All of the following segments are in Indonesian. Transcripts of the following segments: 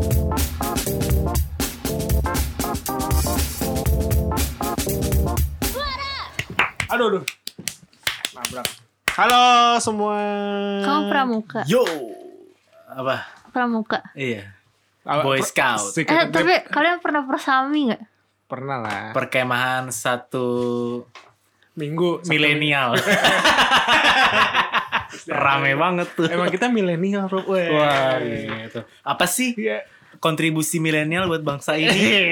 Aduh. Nabrak. Halo semua. Kamu pramuka? Yo. Apa? Pramuka. Iya. Boy Scout. Tapi kalian pernah persami gak? Pernah lah. Perkemahan satu Minggu milenial. Rame banget tuh. Emang kita milenial, Rob. Wah, gitu. Apa sih kontribusi milenial buat bangsa ini?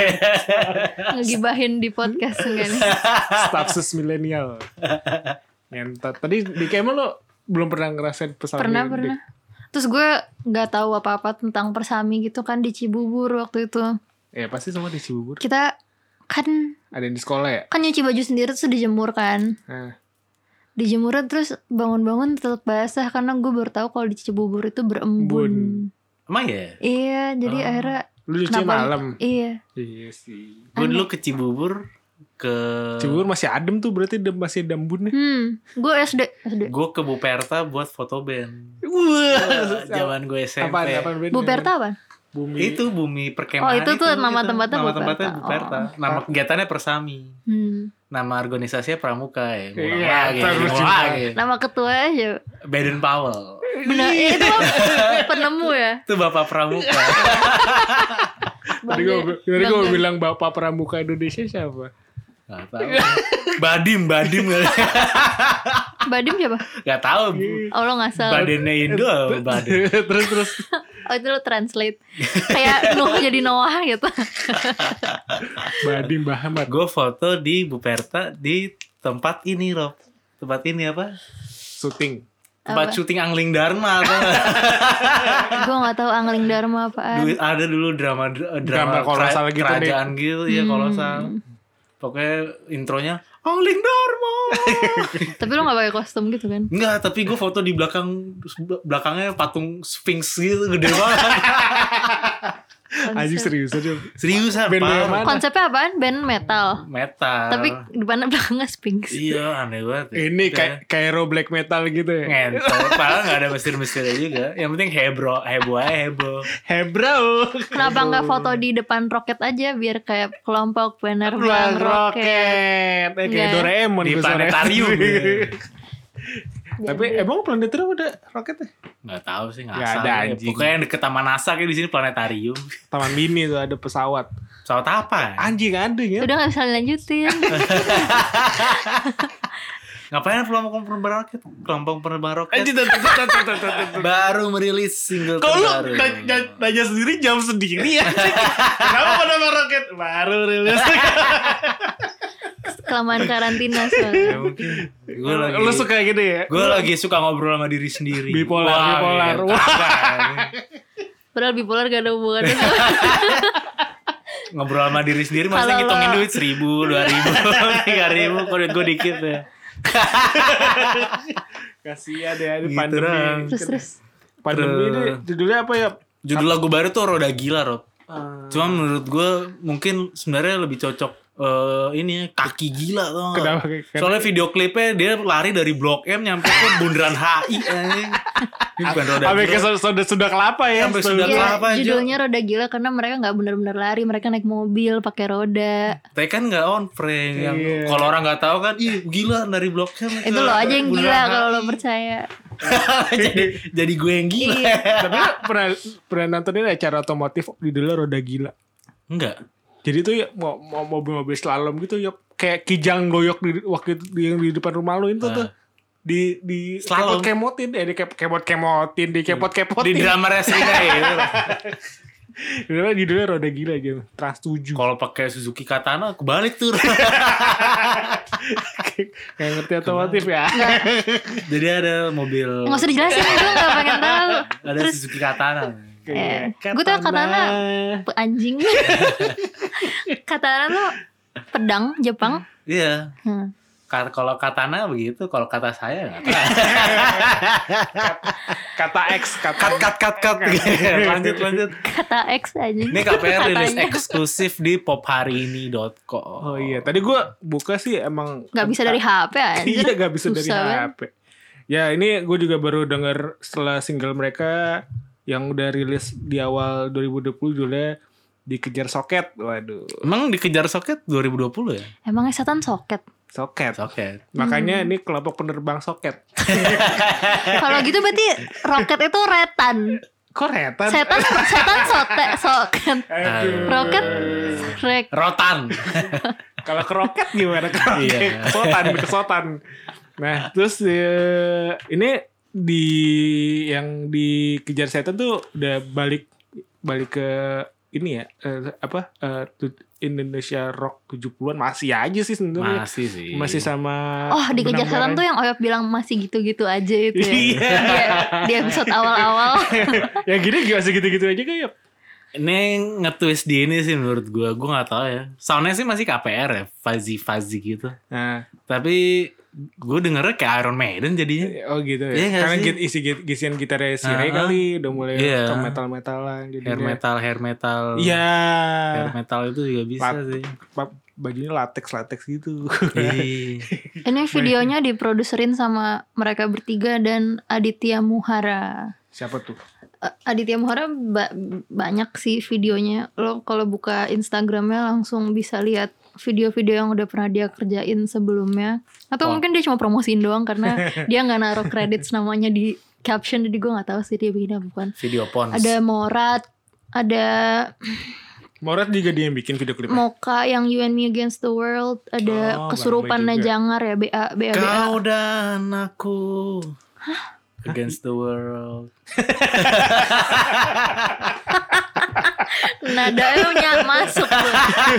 Ngegibahin di podcast enggak nih? Stafsus milenial. Ngentot. Tadi di Kemal lo belum pernah ngerasain persami? Pernah. Terus gue gak tahu apa-apa tentang persami gitu kan di Cibubur waktu itu. Ya pasti semua di Cibubur. Kita kan Ada yang di sekolah ya? kan nyuci baju sendiri terus dijemur kan. Dijemur terus bangun-bangun tetap basah karena gue baru tahu kalau di Cibubur itu berembun. Emang ya? Iya, jadi akhirnya Lu cuci malam? Iya. Iya sih. Gue dulu ke Cibubur Cibubur masih adem tuh, berarti masih ada embunnya. Gue SD. Gue ke Buperta buat foto band. Wah, Zaman gue SMP. Apaan Buperta apa? Bumi. Itu bumi perkemahan. Oh, itu tuh nama tempatnya nama Buperta. tempatnya Buperta. Nama kegiatannya Persami. Nama organisasinya Pramuka ya. Ngulang lagi. Nama ketua aja. Baden Powell. Benar, itu penemu ya. Itu Bapak Pramuka. Tadi gue bilang Bapak Pramuka Indonesia siapa? Gak tahu. Badim kali. Badim siapa? Gak tahu. Oh, lo ngasal. Badannya Indo Badim. terus Oh, itu lo translate. Kayak Nuh jadi Noah gitu. Badim Bahamat. Gue foto di Buperta di tempat ini Rob. Tempat ini apa? Syuting. Tempat syuting Angling Dharma. Gue gak tahu Angling Dharma apaan. Ada dulu drama kolosal gitu kerajaan gitu ya kolosal. Pokoknya intronya Angling Dharma. Tapi lo gak pakai kostum gitu kan? Enggak, tapi gue foto di belakangnya patung Sphinx gitu gede banget. Anjing serius aja. Seriusan Band Pak. mana? Konsepnya apaan? Band metal. Tapi depannya belakangnya Sphinx. iya aneh banget. Ini kayak hero black metal gitu ya. Ngentot. Padahal gak ada mesir-mesirnya juga. Yang penting heboh aja. Hebro. Kenapa gak foto di depan roket aja biar kayak kelompok penerbang roket? Kayak Doraemon Di gue planetarium. Tapi emang planetarium ada roketnya? Gak tahu sih Gak ngasal. ada, Ya. anjing. Pokoknya yang deket Taman NASA kayak di sini planetarium. Taman mini tuh ada pesawat. Pesawat apa? Anjing ada ya. Udah gak bisa lanjutin. Ngapain kelompok penerbang roket? Baru merilis single terbaru. nanya sendiri jam sendiri ya. Kenapa penerbang roket? Baru rilis. Kelamaan karantina soalnya. Ya mungkin. Lu suka gitu ya? Gue lagi suka ngobrol sama diri sendiri. Bipolar. Padahal bipolar gak ada hubungannya. Ngobrol sama diri sendiri masa Kalau ngitungin duit 1.000, 2.000, 3.000. Kok gue dikit ya. Kasihan ya Gitu pandemi. dong. Terus. Pandemi ini judulnya apa ya? Judul lagu baru tuh Roda Gila Rob. Cuma menurut gue mungkin sebenarnya lebih cocok ini Kaki Gila tuh. Kenapa? Soalnya video klipnya dia lari dari Blok M nyampe ke Bundaran HI. Ini bukan Roda Sampai Gila. ke sudah kelapa ya. Sampai sudah Iya, kelapa aja. judulnya Roda Gila karena mereka gak benar-benar lari. Mereka naik mobil pakai roda. Tapi kan gak on frame. Iya. Kalau orang gak tahu kan, ih gila dari Blok M. Itu lo aja yang gila kalau lo percaya. jadi gue yang gila. Iya. Tapi lu pernah nonton ini acara otomotif judulnya Roda Gila? Enggak. Jadi tuh ya mau mobil-mobil slalom gitu ya kayak kijang goyok di waktu itu yang di depan rumah lu itu tuh di Slalom. kemot-kemotin dikepot-kemotin Di drama wrestling gitu. Judulnya Roda Gila aja Trans 7. Kalau pakai Suzuki Katana kebalik tuh. Kayak ngerti otomotif ya. Jadi ada mobil. Gak usah dijelasin, gue gak pengen tahu. Ada Suzuki Katana. Gue tau katana anjing. Katana tuh pedang Jepang. Iya. Kalau katana begitu, kalau kata saya nggak tahu. Kata X, Cut. Lanjut. Kata X aja. Ini KPR rilis eksklusif di popharini.co. Oh iya, tadi gue buka sih emang Gak bisa dari HP anjir. Iya, gak bisa dari Susah, kan? HP. Ya ini gue juga baru denger setelah single mereka yang udah rilis di awal 2020 judulnya Dikejar Soket. Waduh. Emang Dikejar Soket 2020 ya? Emangnya setan soket? Soket. Hmm. Makanya ini kelompok penerbang soket. Kalau gitu berarti roket itu retan. Kok retan? Setan soket. Aduh. Roket Rotan. Kalau keroket gimana? Iya. Kesotan. Nah, terus ini yang dikejar setan tuh udah balik ke ini ya, Indonesia Rock 70-an masih aja sih sebenarnya. Masih sih. Masih sama dikejar setan tuh yang Oyop bilang masih gitu-gitu aja itu ya. Di episode awal-awal. Ya gini masih gitu-gitu aja kan ya. Ini nge-twist di ini sih menurut gue gak tahu ya. Soundnya sih masih KPR ya, fuzzy gitu. Nah, tapi gue dengernya kayak Iron Maiden jadinya. oh gitu ya. Iya Karena sih? isian gitarnya si Ray kali udah mulai Iya. ke metal-metalan Hair metal. Iya. Hair metal itu juga bisa sih. Bajunya latex gitu. Ih. Ini videonya diproduserin sama mereka bertiga dan Aditya Muhara. Siapa tuh? Aditya Muhara banyak sih videonya. Lo kalau buka Instagramnya langsung bisa lihat video-video yang udah pernah dia kerjain sebelumnya. Atau mungkin dia cuma promosiin doang karena dia nggak naruh credits namanya di caption. Jadi gue nggak tahu sih dia bikin apa bukan. Video Pons. Ada Morat, ada Morat juga dia yang bikin video klipnya. Mocha yang You and Me Against the World, ada Oh, Kesurupannya Bang Boy juga. Jangar ya, BA. Kau dan aku against the world. Nadanya masuk tuh.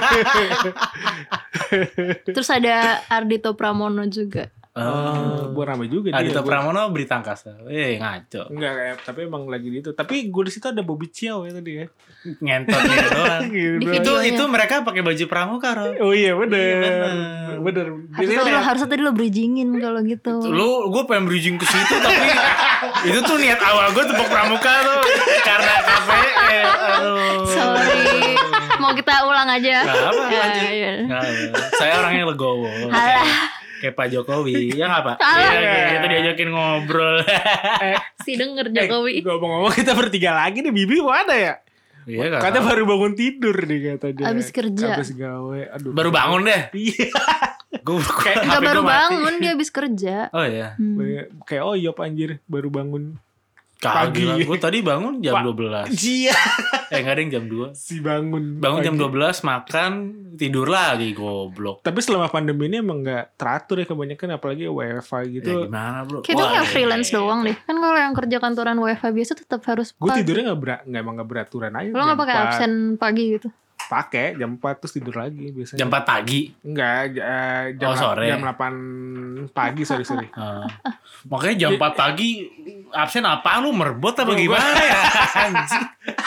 Terus ada Ardhito Pramono juga. Buat rame juga dia. Adhito Pramono Berita Angkasa. Ngaco. Enggak kayak, tapi emang lagi di itu. Tapi gue di situ ada Bobby Ciao ya tadi ya. Ngentot gitu doang. Gitu. Di itu videonya. mereka pakai baju pramuka, Rob. Oh iya bener. Iya, Bener. Harusnya tadi lo bridgingin kalau gitu. Gue pengen bridging ke situ tapi itu tuh niat awal gue tepuk pramuka tuh karena KPR. Aduh. Sorry. Mau kita ulang aja. Gak apa, Ya, lanjut. ya. Nggak apa. Saya orangnya legowo. Kayak Pak Jokowi. Ya gak Pak? Alah. Iya, kita diajakin ngobrol. Si denger Jokowi. Ngomong-ngomong kita bertiga lagi nih. Bibi mana ya? Iya gak Katanya tahu. baru bangun tidur nih kata dia. Abis kerja. Abis gawe. Aduh. Baru bangun deh. Iya. Gue Enggak baru bangun, dia habis kerja. Oh iya. Kayak Oyop anjir. Baru bangun. Pagi. Pagi. Gue tadi bangun jam 12. Iya. Enggak ada yang jam 2. Si bangun. Bangun jam pagi. 12 makan tidur lagi goblok. Tapi selama pandemi ini emang gak teratur ya kebanyakan. Apalagi WFH gitu. Ya gimana bro? Kita Wah, nggak freelance doang deh. Kan kalau yang kerja kantoran WFH biasa tetap harus Gue pagi. tidurnya emang gak beraturan aja. Lo nggak pakai absen pagi gitu? Pakai jam 4 terus tidur lagi biasanya. Jam 4 pagi. Enggak, jam, Oh, sore. jam 8 pagi, sorry. Makanya jam 4 pagi absen apaan lu merbot apa gimana ya? Anjing.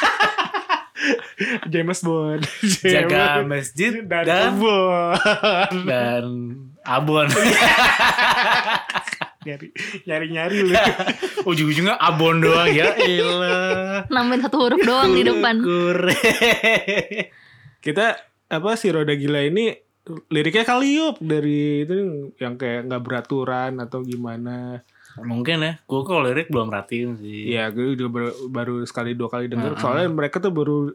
James Bond. Jaga masjid dan Bond. dan abon. Nyari lu. Ujung-ujungnya abon doang ya. Elah. Nambahin satu huruf doang di depan. Kita si Roda Gila ini liriknya kali yuk dari itu yang kayak nggak beraturan atau gimana. Mungkin ya. Gue kalau lirik belum perhatiin sih. Iya, gue juga baru sekali 2 kali denger. Soalnya mereka tuh baru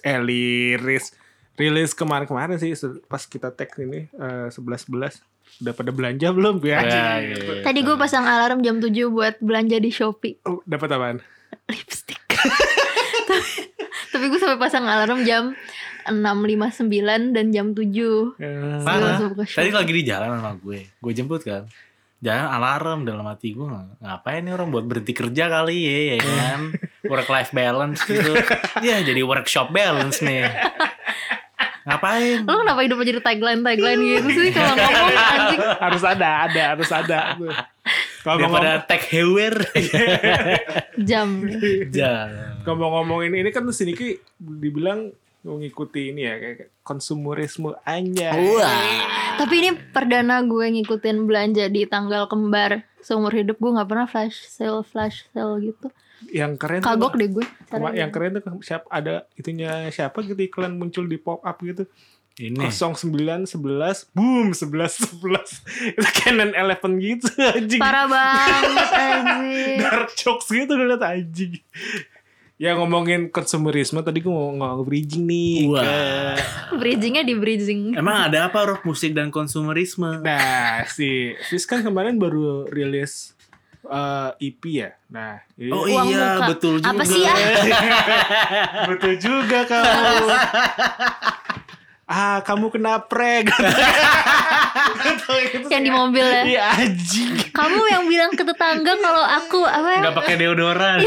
rilis kemarin sih pas kita tag ini 11 udah pada belanja belum ya? Iya. Tadi gue pasang alarm jam 7 buat belanja di Shopee. Oh, dapat apaan? Lipstick. Tapi gue sampai pasang alarm jam 6.59 dan jam 7. Mana? Langsung ke Tadi Shopee. lagi di jalan sama gue. Gue jemput kan. Jangan alarm dalam hati gue, ngapain nih orang buat berhenti kerja kali ya kan, work life balance gitu ya, jadi workshop balance nih, ngapain? Lo kenapa hidup jadi tagline gitu sih kalau ngomong anjing. harus ada. Kalau Daripada tech hewer. Jam. ngomongin ini kan si Niki dibilang mengikuti ini ya kayak konsumerisme aja. Tapi ini perdana gue ngikutin belanja di tanggal kembar. Seumur hidup gue gak pernah flash sale gitu. Yang keren Kagok tuh, deh gue caranya. yang keren tuh ada itunya siapa gitu iklan muncul di pop up gitu. Ini 0911 boom 11 itu Canon 11 gitu anjing. Parah banget anjing. Dark jokes gitu ngeliat anjing. Ya ngomongin konsumerisme tadi gue mau bridging nih. Wah. Bridgingnya di bridging. Emang ada apa Rob musik dan konsumerisme? Nah, si Fizz kan kemarin baru rilis EP ya. Nah, jadi Oh Uang iya, muka. betul juga. Apa sih ya? betul juga kamu. Kamu kena prank. Yang di mobil ya. Iya anjing. Kamu yang bilang ke tetangga kalau aku apa ya? Nggak pakai deodoran.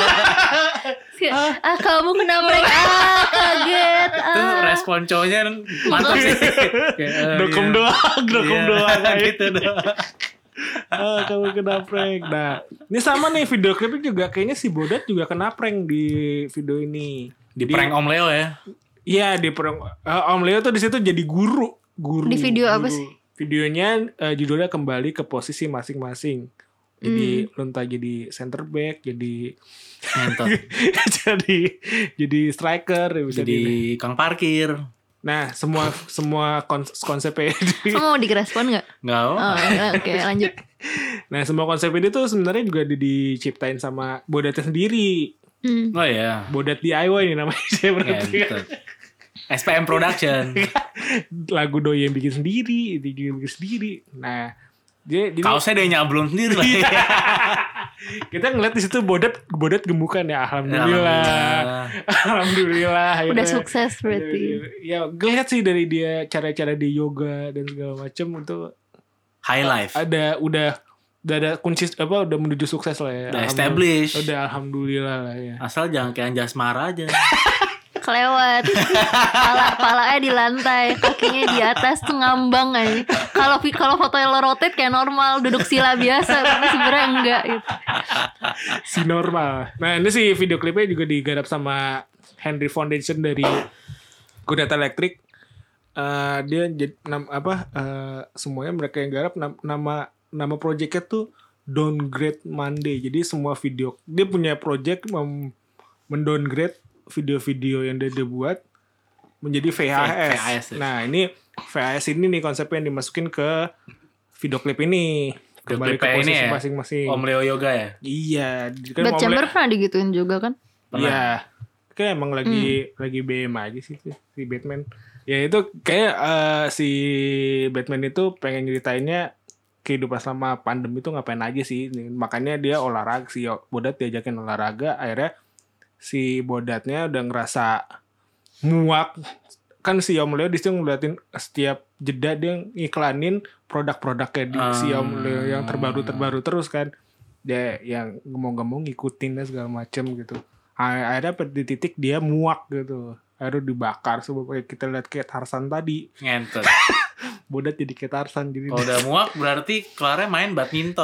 Kamu kena prank. Kaget. Itu respon cowoknya mantap sih. Dokum doang, dokum doang. Gitu doang. Kamu kena prank. Nah, ini sama nih video klipnya juga kayaknya si Bodat juga kena prank di video ini. Di prank Om Leo ya. Iya, di prank Om Leo tuh di situ jadi guru. Di video apa sih? Videonya judulnya kembali ke posisi masing-masing. Jadi lontar jadi center back, jadi Ngentot. jadi striker bisa Jadi kang parkir. Nah, semua konsepnya Kamu mau direspon nggak? Nggak. Oh, oke, lanjut. Nah, semua konsep ini tuh sebenarnya juga diciptain sama Bodatnya sendiri. Oh iya. Bodat DIY nih namanya saya berarti. Ngentot. SPM Production. Lagu doi yang bikin sendiri. Nah, jadi Kaosnya dia nyablon sendiri lah. kita ngeliat di situ Bodat gemukan ya, alhamdulillah. Udah akhirnya. sukses berarti. Ya, ngeliat sih dari dia cara-cara dia yoga dan segala macem itu High life. udah ada kunci udah menuju sukses lah ya. Udah established. Udah alhamdulillah lah ya. Asal jangan kayak Anjasmara aja. Kelewat. Palanya di lantai, kakinya di atas tuh ngambang aja. Kalau fotonya lo rotate kayak normal, duduk sila biasa, tapi sebenarnya enggak gitu. Si normal. Nah, ini sih video klipnya juga digarap sama Henry Foundation dari Godata Electric. Dia semuanya mereka yang garap nama projectnya tuh Downgrade Monday. Jadi semua video dia punya project mendowngrade video-video yang dia buat menjadi VHS. ya. Nah, ini VHS ini nih konsepnya yang dimasukin ke video klip ini. Kembali ke klipnya ini posisi ya? masing-masing. Om Leo Yoga ya. Iya, kan Bad Om Chamber Le- pernah digituin juga kan? Iya. Kayak emang lagi BM aja sih si Batman. Ya itu kayak si Batman itu pengen nyeritainnya kehidupan selama pandemi itu ngapain aja sih. Makanya dia olahraga, si Bodat diajakin olahraga, akhirnya si Bodatnya udah ngerasa muak. Kan si Om Leo di situ ngeliatin setiap jeda dia ngiklanin produk-produknya di si Om Leo yang terbaru terus kan. Dia yang ngomong-ngomong ngikutin dan segala macem gitu. Akhirnya di titik dia muak gitu. Akhirnya dibakar. Kayak kita lihat kayak Tarzan tadi. Ngentot. Bodat jadi kayak Tarzan. Jadi Kalau udah muak berarti kelarnya main badminton.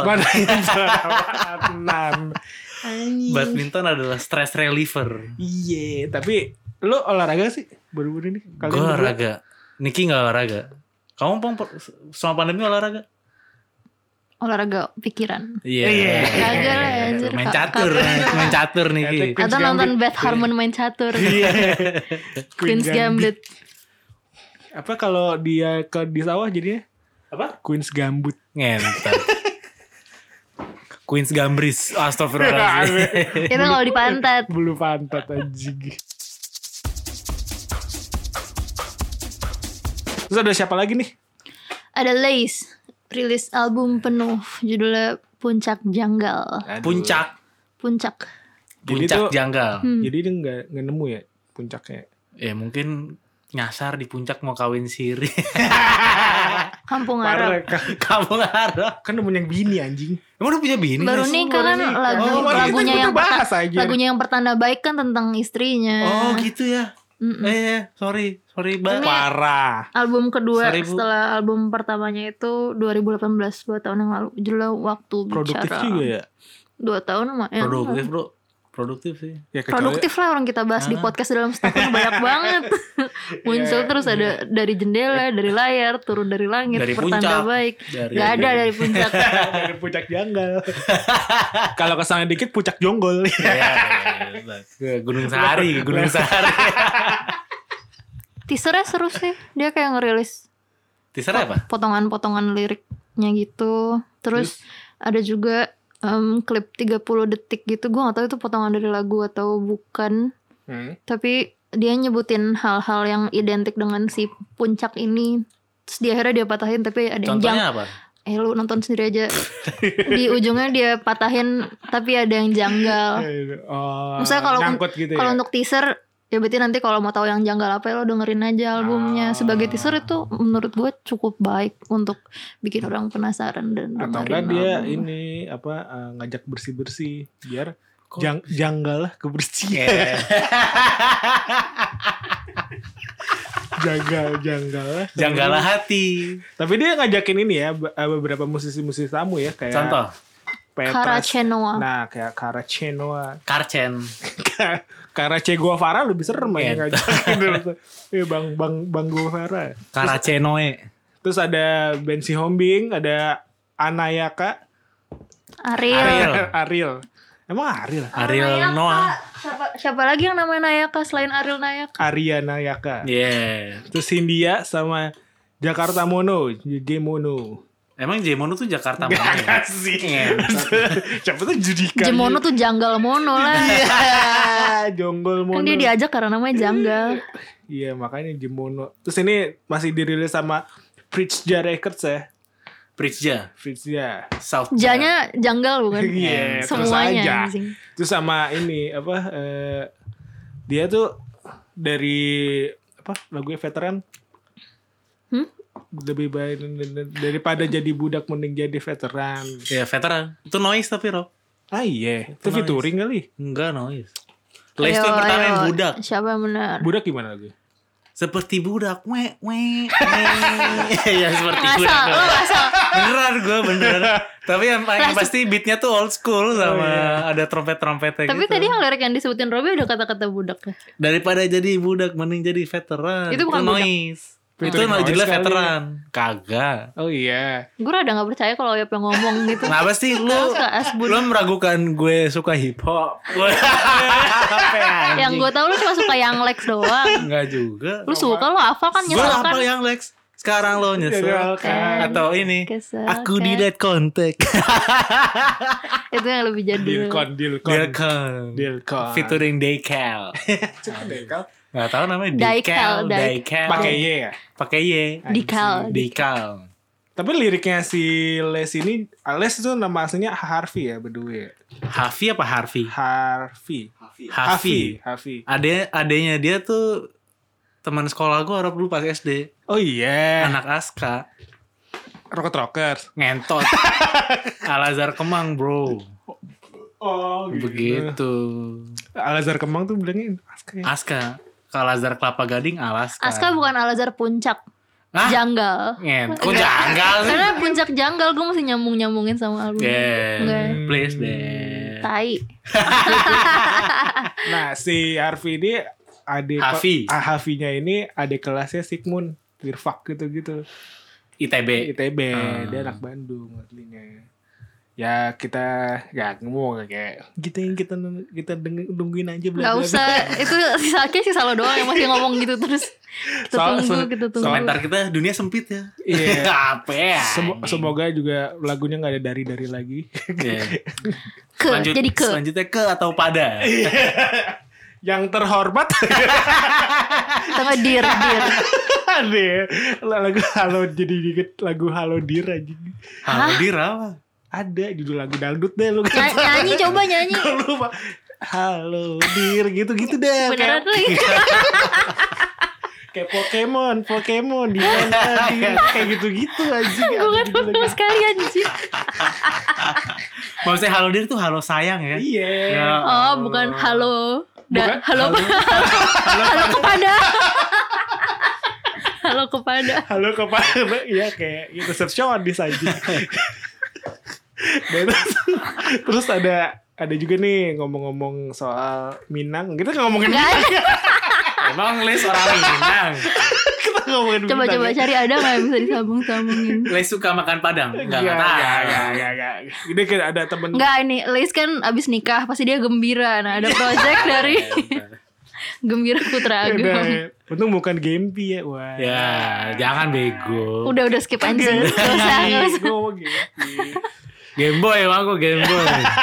Badminton adalah stress reliever. Iya, tapi lu olahraga sih baru-baru ini? Gue olahraga. Niki gak olahraga. Kamu selama pandemi olahraga? Olahraga pikiran. Iya. Kagak lah anjir. Main catur Niki. Atau nonton Beth Harmon main catur. Queen's Gambit. Apa kalau dia di sawah jadinya? Apa? Queen's Gambut. Ngentot. Queen's Gambris. Astagfirullahaladzim. Itu kalau di pantat. Bulu pantat anjing. Terus ada siapa lagi nih? Ada Lace, rilis album penuh judulnya Puncak Janggal. Puncak Jadi tuh- janggal. Jadi dia nggak nemu ya puncaknya. Ya mungkin nyasar di puncak mau kawin siri. Kampung Arab. Kamu ngarep. Kan udah punya bini anjing. Emang udah punya bini? Baru guys? nikah kan lagunya yang pertanda baik kan tentang istrinya. Oh gitu ya. Sorry Mbak. Parah. Album kedua Sorry, Bu. setelah album pertamanya itu 2018, 2 tahun yang lalu. Judulnya Waktu Produktif Bicara. juga ya. 2 tahun mah ya. Produktif bro. Produktif sih. Ya kecuali Produktif lah orang kita bahas di podcast dalam setahun banyak banget. Muncul terus ada dari jendela, dari layar, turun dari langit, Dari pertanda puncak. baik. Dari- Gak ada dari puncak. dari puncak janggal. Kalau kesana dikit puncak jonggol. Ya, Gunung Sahari. Teasernya seru sih. Dia kayak ngerilis Teasernya apa? potongan-potongan liriknya gitu. Terus ada juga klip 30 detik gitu. Gue gak tahu itu potongan dari lagu atau bukan. Tapi dia nyebutin hal-hal yang identik dengan si Puncak ini. Terus di akhirnya dia patahin, tapi ada yang Contohnya apa? Lu nonton sendiri aja. Di ujungnya dia patahin, tapi ada yang janggal. Misalnya kalau gitu kalau ya? untuk teaser, ya berarti nanti kalau mau tahu yang janggal apa, lo dengerin aja albumnya. Sebagai teaser itu menurut gue cukup baik untuk bikin orang penasaran dan atau dengerin enggak dia album. ini ngajak bersih-bersih biar janggal lah kebersihan. Janggalah hati. Tapi dia ngajakin ini ya beberapa musisi-musisi tamu ya kayak Contoh. Petras. Karacenoa. Nah kayak Karacenoa, Karcen. Karace Guevara lebih serem ya ngajakin dulu. Bang Guevara. Karacenoe. Terus ada Ben Sihombing, ada Anayaka, Ariel. Emang Ariel? Ariel Noah. Siapa lagi yang namanya Nayaka selain Ariel Nayaka? Arya Nayaka. Yeah. Terus Hindia sama Jakarta Mono, Jemono. Emang Jemono tuh Jakarta Gak mana? sih. Siapa tuh Judika? Jemono tuh janggal mono lah. Jonggol Mono. Kan dia diajak karena namanya janggal. Iya makanya Jemono. Terus ini masih dirilis sama Pritsja Records ya. Pritsja. South. Janya janggal bukan? Iya, terus Semuanya. aja. anjing. Terus sama ini dia tuh dari lagunya veteran. Lebih baik daripada jadi budak mending jadi veteran. Ya veteran. Itu noise tapi Rob. Ah iya, itu Noise. featuring kali. Enggak noise. Lace itu yang pertama yang budak. Siapa yang benar? Budak gimana lagi? Seperti budak. Ya seperti budak. Lo asal. Beneran gue beneran. Tapi yang pasti beatnya tuh old school sama ada trompet-trompetnya Tapi gitu. tadi yang lirik yang disebutin Robby ada kata-kata budak ya. Daripada jadi budak mending jadi veteran. Itu bukan budak. noise. Itu Featuring noise judulnya kali. veteran. Kagak. Oh iya. Gue rada gak percaya kalau Oyap yang ngomong gitu. Kenapa sih lu Suka asbun. lu meragukan gue suka hip hop? Yang gue tahu lu cuma suka yang Lex doang. Enggak juga. Lu suka, lu hafal kan, Gue nyesel apa kan. yang Lex? Sekarang lo nyesel Nyeselkan. atau ini Kesel aku kan. di dead contact. Itu yang lebih jadul. Dilcon. Featuring Decal. Dilcon. Nggak tahu namanya Decal. Decal. Pakai Y ya. Pakai Y. Decal. Decal. Tapi liriknya si Les ini, Les itu nama aslinya Harvey ya berdua. Hafi apa Harvey? Harvey. Adenya dia tuh teman sekolah gue orang dulu pas SD. Oh iya. Anak Aska. Rockers. Ngentot. Al-Azhar Kemang bro. Oh Begitu. Al-Azhar Kemang tuh bilangnya Aska ya. Aska. Kalau Al-Azhar Kelapa Gading Alaska. Aska bukan Al-Azhar Puncak. Hah? Janggal. Kok janggal sih? Karena Puncak janggal, gue mesti nyambung-nyambungin sama album. Enggak. Please deh. Tai. Nah si Harvey ini Harvey-nya ini adik kelasnya Sigmund Wirfak gitu-gitu. ITB. Dia anak Bandung aslinya. Ya kita ngomong kayak kita nungguin aja Gak usah. Itu sisa lo doang yang masih ngomong gitu terus. Kita tunggu. Komentar kita dunia sempit ya. Iya. Apa ya? Semoga juga lagunya gak ada dari lagi. Iya. Jadi ke. Selanjutnya ke atau pada. Yang terhormat. Tengah dir. Ada lagu Halo jadi dikit lagu Halo Dir aja. Halo Dir apa? Ada judul lagu dangdut deh lu Nyanyi coba nyanyi. lupa. Halo Dir gitu-gitu deh. Beneran lagi. Kayak Pokemon di mana kayak gitu-gitu aja. Gue kan sama sekali anjir. Maksudnya Halo Dir tuh halo sayang ya? Iya. Ya. Oh bukan halo. Bukan? Halo kepada. Halo kepada. Iya kayak gitu resepsionis aja. Dan terus ada juga nih ngomong-ngomong soal Minang. Kita ngomongin Gak Minang. ada. Emang Les orang Minang. Kita ngomongin Minang. Coba cari ada nggak yang bisa disambung-sambungin. Les suka makan Padang? Enggak tahu. Enggak. Ini kayak ada temen. Enggak ini Liz kan abis nikah pasti dia gembira. Nah ada project dari Gembira Putra Agam. Untung bukan Gempi ya. Wah. Ya, jangan bego. Udah skip aja. Gak usah. Gue ngomong Gempi. Game Boy emang gue Game Boy.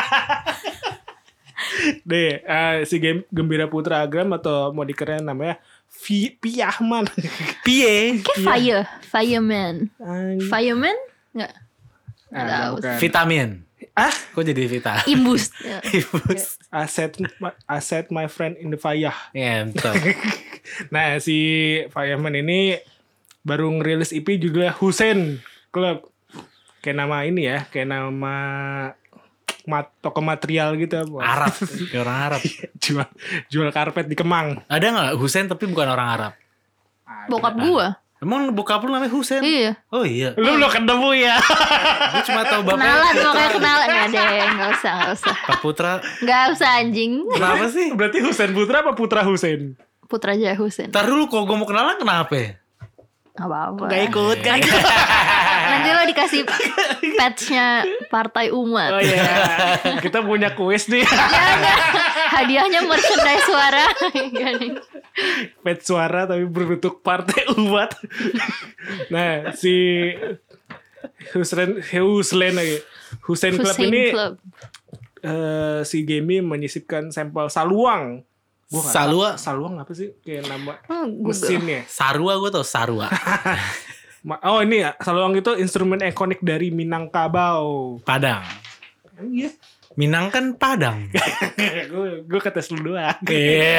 Deh, si Gembira Putra Agram atau mau dikenal namanya Piahman. Pie. Kayak Fireman. Fireman? Enggak. Nggak tahu. Bukan. Vitamin. Ah, Kok jadi Vita? Imbus. Ya. Ibus. I set my friend in the fire. Ngentot. Nah, si Fireman ini baru ngerilis EP juga Hussein Club. Kayak nama ini ya, kayak nama toko material gitu. Arab. Kayak orang Arab. jual karpet di Kemang. Ada gak Husain tapi bukan orang Arab? Bokap gua. Emang bokap lu namanya Husain? Iya. Oh iya. Lu ketemu ya. Gue cuma tahu bapaknya Kenalan, Putra. pokoknya kenalan. Nggak deh, nggak usah. Pak Putra. Nggak usah anjing. Kenapa sih? Berarti Hussein Putra apa Putra Hussein? Putra Jaya Husain. Ntar dulu kok gue mau kenalan kenapa? Nggak apa-apa. Gak ikut kan? Nanti lo dikasih patch-nya Partai Umat. Oh iya. Kita punya kuis nih. Jangan. Hadiahnya merchandise suara. Pet suara tapi berbentuk Partai Umat. Nah, si Hussein Club Hussein ini Club. Si Gemi menyisipkan sampel saluang. Gua nggak Salua. tahu, saluang apa sih kayak nama Google. mesinnya? Sarua gue tau Sarua. Oh ini ya, saluang itu instrumen ikonik dari Minangkabau. Padang. Iya. Minang kan Padang. gue ketes lu doang. Iya.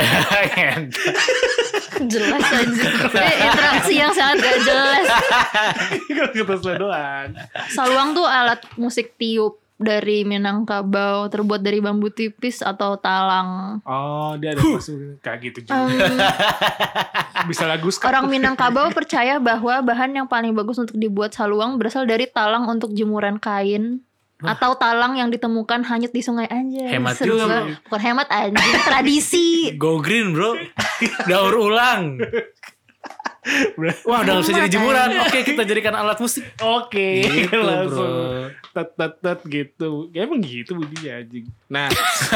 Jelas aja. Interaksi yang sangat gak jelas. Gue ketes lu doang. Saluang tuh alat musik tiup dari Minangkabau, terbuat dari bambu tipis atau talang. Oh dia ada masuk kayak gitu juga. Bisa lagu Orang Minangkabau percaya bahwa bahan yang paling bagus untuk dibuat saluang berasal dari talang untuk jemuran kain. Atau talang yang ditemukan hanyut di sungai anjay. Hemat Seru juga, banget. Bukan hemat anjing, tradisi. Go green bro. Daur ulang. Wah udah gak bisa jadi jemuran. Oke kita jadikan alat musik. Oke, Gitu, langsung bro. tet gitu. Ya emang gitu bunyinya anjing. Nah,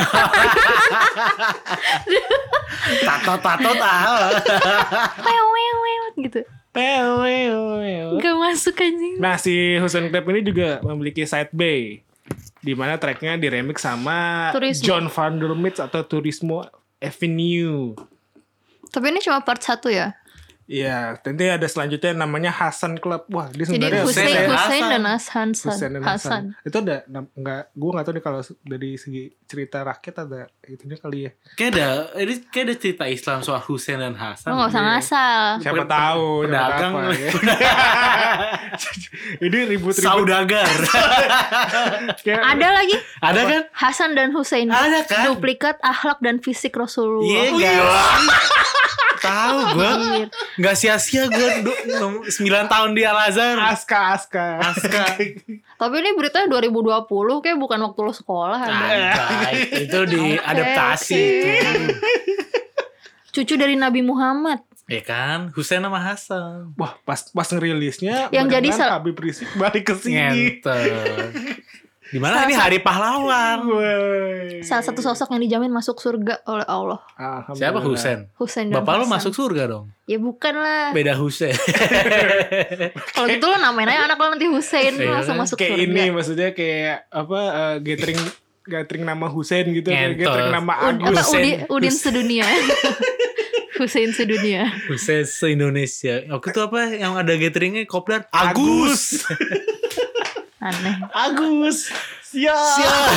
Tato tahu. Wew gitu. Gak masuk anjing. nah si Hussein Club ini juga memiliki side B di mana tracknya diremix sama Turismo. John Van der Mits atau Turismo Avenue. Tapi ini cuma part 1 ya. Iya, nanti ada selanjutnya namanya Hasan Club. Wah, dia Jadi sebenarnya Hussein, Hasan. Hussein dan Hasan. Hussein dan Hasan. Hasan. Itu ada gue nggak tahu nih kalau dari segi cerita rakyat ada itunya kali ya. Kayak ada cerita Islam soal Husain dan Hasan. Lo gak usah ngasal. Siapa tahu pedagang. siapa ya. Ini ribut-ribut. Saudagar. Kayak- Ada lagi Ada kan? Hasan dan Hussein. Ada kan? Duplikat akhlak dan fisik Rasulullah. Iya guys. Tahu gue. Anjir. Gak sia-sia gue 9 tahun di Al-Azhar. Aska. Tapi ini beritanya 2020 kayak bukan waktu lo sekolah ada. Itu diadaptasi. Cucu dari Nabi Muhammad. Ya kan, Husain sama Hasan. Wah, pas ngerilisnya Yang jadi mudah-mudahan Habib Rizik balik ke sini. Ngentot. Dimana ini hari pahlawan? Woi. Salah satu sosok yang dijamin masuk surga oleh Allah. Alhamdulillah. Siapa Husain? Hussein dan Bapak lu Hasan. masuk surga dong? Ya bukan lah. Beda Husain. Kalau gitu lo namain aja anak lo nanti Hussein. Lo Iya langsung kan? masuk Kayak surga. ini maksudnya kayak apa gathering nama Husain gitu, Ngentot. gathering nama Apa Agus. Udin sedunia. Hussein sedunia. Husain se-Indonesia. Waktu itu apa yang ada gatheringnya kopdar? Agus. Aneh. Agus. Siap.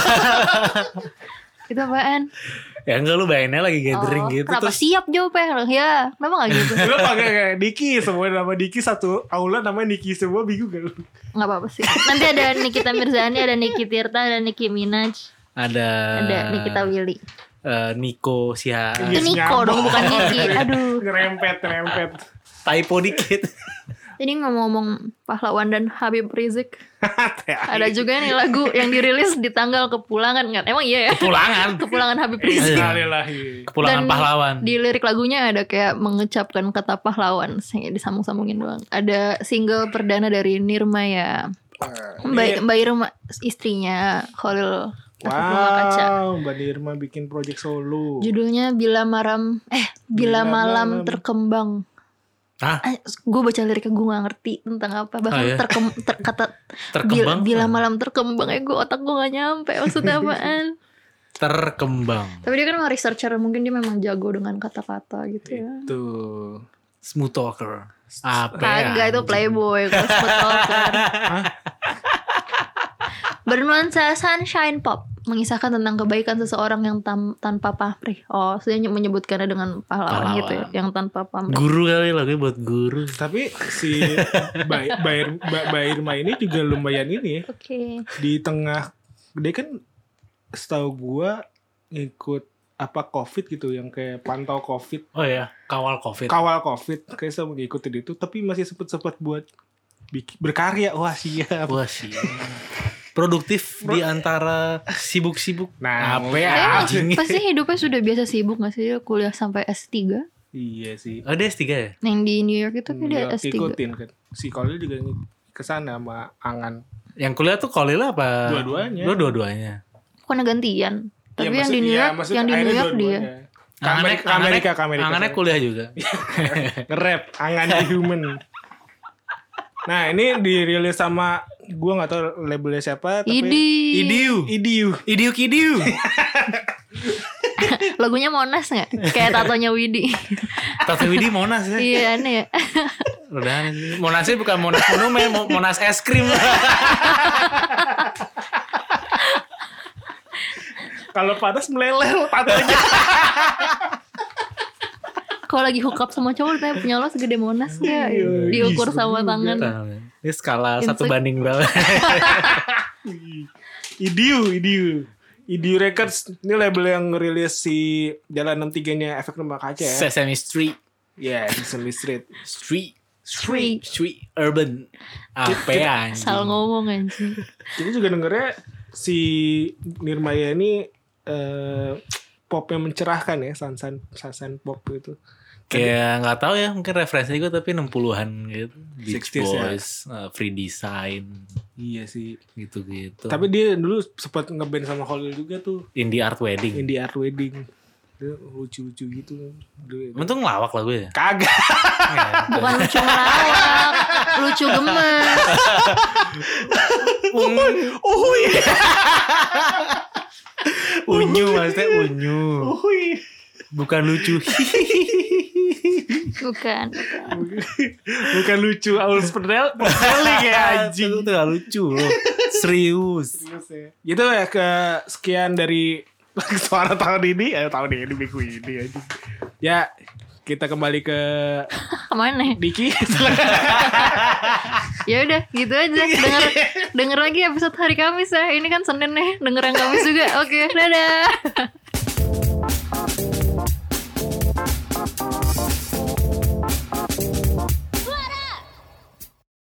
Itu apaan? Ya enggak lu bayanginnya lagi gathering gitu. Kenapa Terus siap jawabnya? Ya, kenapa gak gitu? Lu pakai kayak Niki, semua nama Niki satu aula namanya Niki semua, bingung gak lu? Gak apa-apa sih. Nanti ada Nikita Mirzani, ada Niki Tirta, ada Nicki Minaj, ada Nikita Willy. Niko Siha. Itu Niko dong, bukan Niki. Aduh. Ngerempet. Typo dikit. Jadi ngomong-ngomong pahlawan dan Habib Rizik, ada juga nih lagu yang dirilis di tanggal kepulangan kan? Emang iya ya? Kepulangan Habib Rizik. Sekali lagi. Kepulangan Dan pahlawan. Di lirik lagunya ada kayak mengucapkan kata pahlawan, disambung-sambungin doang. Ada single perdana dari Nirma ya, Mbak Irma, istrinya Khalil Kaca. Wow, Mbak Nirma bikin project solo. Judulnya Bila Malam Bila Malam Malam. Terkembang. Gue baca liriknya gue gak ngerti tentang apa. Bahkan iya? kata Terkembang. bila malam terkembang gue otak gue gak nyampe maksudnya apaan. Terkembang. Tapi dia kan memang researcher, mungkin dia memang jago dengan kata-kata gitu ya. Itu Smooth talker. Apa Kagak, itu playboy. Kalau smooth talker. Bernuansa sunshine pop, mengisahkan tentang kebaikan seseorang yang tanpa pamrih. Oh, saya menyebutkannya dengan pahlawan gitu ya, yang tanpa pamrih. Guru kali lagunya buat guru. tapi si Mbak Irma ini juga lumayan ini ya. Oke. Di tengah dia kan setahu gua ngikut apa COVID gitu, yang kayak pantau COVID, Oh ya, kawal COVID. kawal COVID, kayak saya ngikutin itu, tapi masih sempet buat berkarya. Wah siap. Wah sih. Produktif di antara sibuk-sibuk. Nah, apa Kayaknya anjing? pasti hidupnya sudah biasa sibuk gak sih? Dia kuliah sampai S3. Iya sih. Oh dia S3 ya? Yang di New York itu kan dia Nggak S3. ikutin kan. Si Kolil juga kesana sama Angan. Yang kuliah tuh Kolila apa? Dua-duanya. Dua-duanya. Bukan gantian. Tapi Ya, yang di New York, maksudnya yang di New akhirnya York dia. dua-duanya. Ke Amerika. Angannya kuliah juga. Nge-rap Angan the Human. Nah, ini dirilis sama gua enggak tahu labelnya siapa, tapi Idiu. Idiu. Lagunya Monas gak? Kayak tatonya Widi. Tato Widi Monas ya. Iya aneh ya. Udah aneh sih. Monasnya bukan Monas monumen, Monas es krim. kalau panas meleleh tatonya. Kalau lagi hook up sama cowok tanya punya lo segede Monas gak? Iya, Diukur iya, sama juga. tangan. Ini skala Insek. 1 banding berapa? Idiu Records ini label yang ngerilis si Jalan 63-nya Efek Rumah Kaca ya. Sesame Street. Ya, Sesame Street. Street Urban. Apa anjing? Salah ngomong anjing. Kita juga dengernya si Nirmaya ini popnya mencerahkan ya, sunshine pop gitu. Kayak nggak tahu ya, mungkin referensi gue tapi 60-an gitu. Beach 60s ya. Boys, Free Design, Iya sih. gitu-gitu. Tapi dia dulu sempat ngeband sama Holil juga tuh, Indie Art Wedding. Indie Art Wedding. Dia lucu-lucu gitu. Emang tuh ngelawak lagu ya? Kagak. Bukan lucu melawak, lucu gemes. Unyu maksudnya unyu. Bukan lucu. Bukan. Bukan lucu, Aulus Perdel ya anjing. Itu gak lucu loh. Serius. Gitu ya, ke sekian dari suara tahun ini, minggu ini aja. Ya, kita kembali ke Kemana? Diki. Ya udah, gitu aja. Denger lagi episode hari Kamis ya. Ini kan Senin nih, denger yang Kamis juga. Oke, dadah.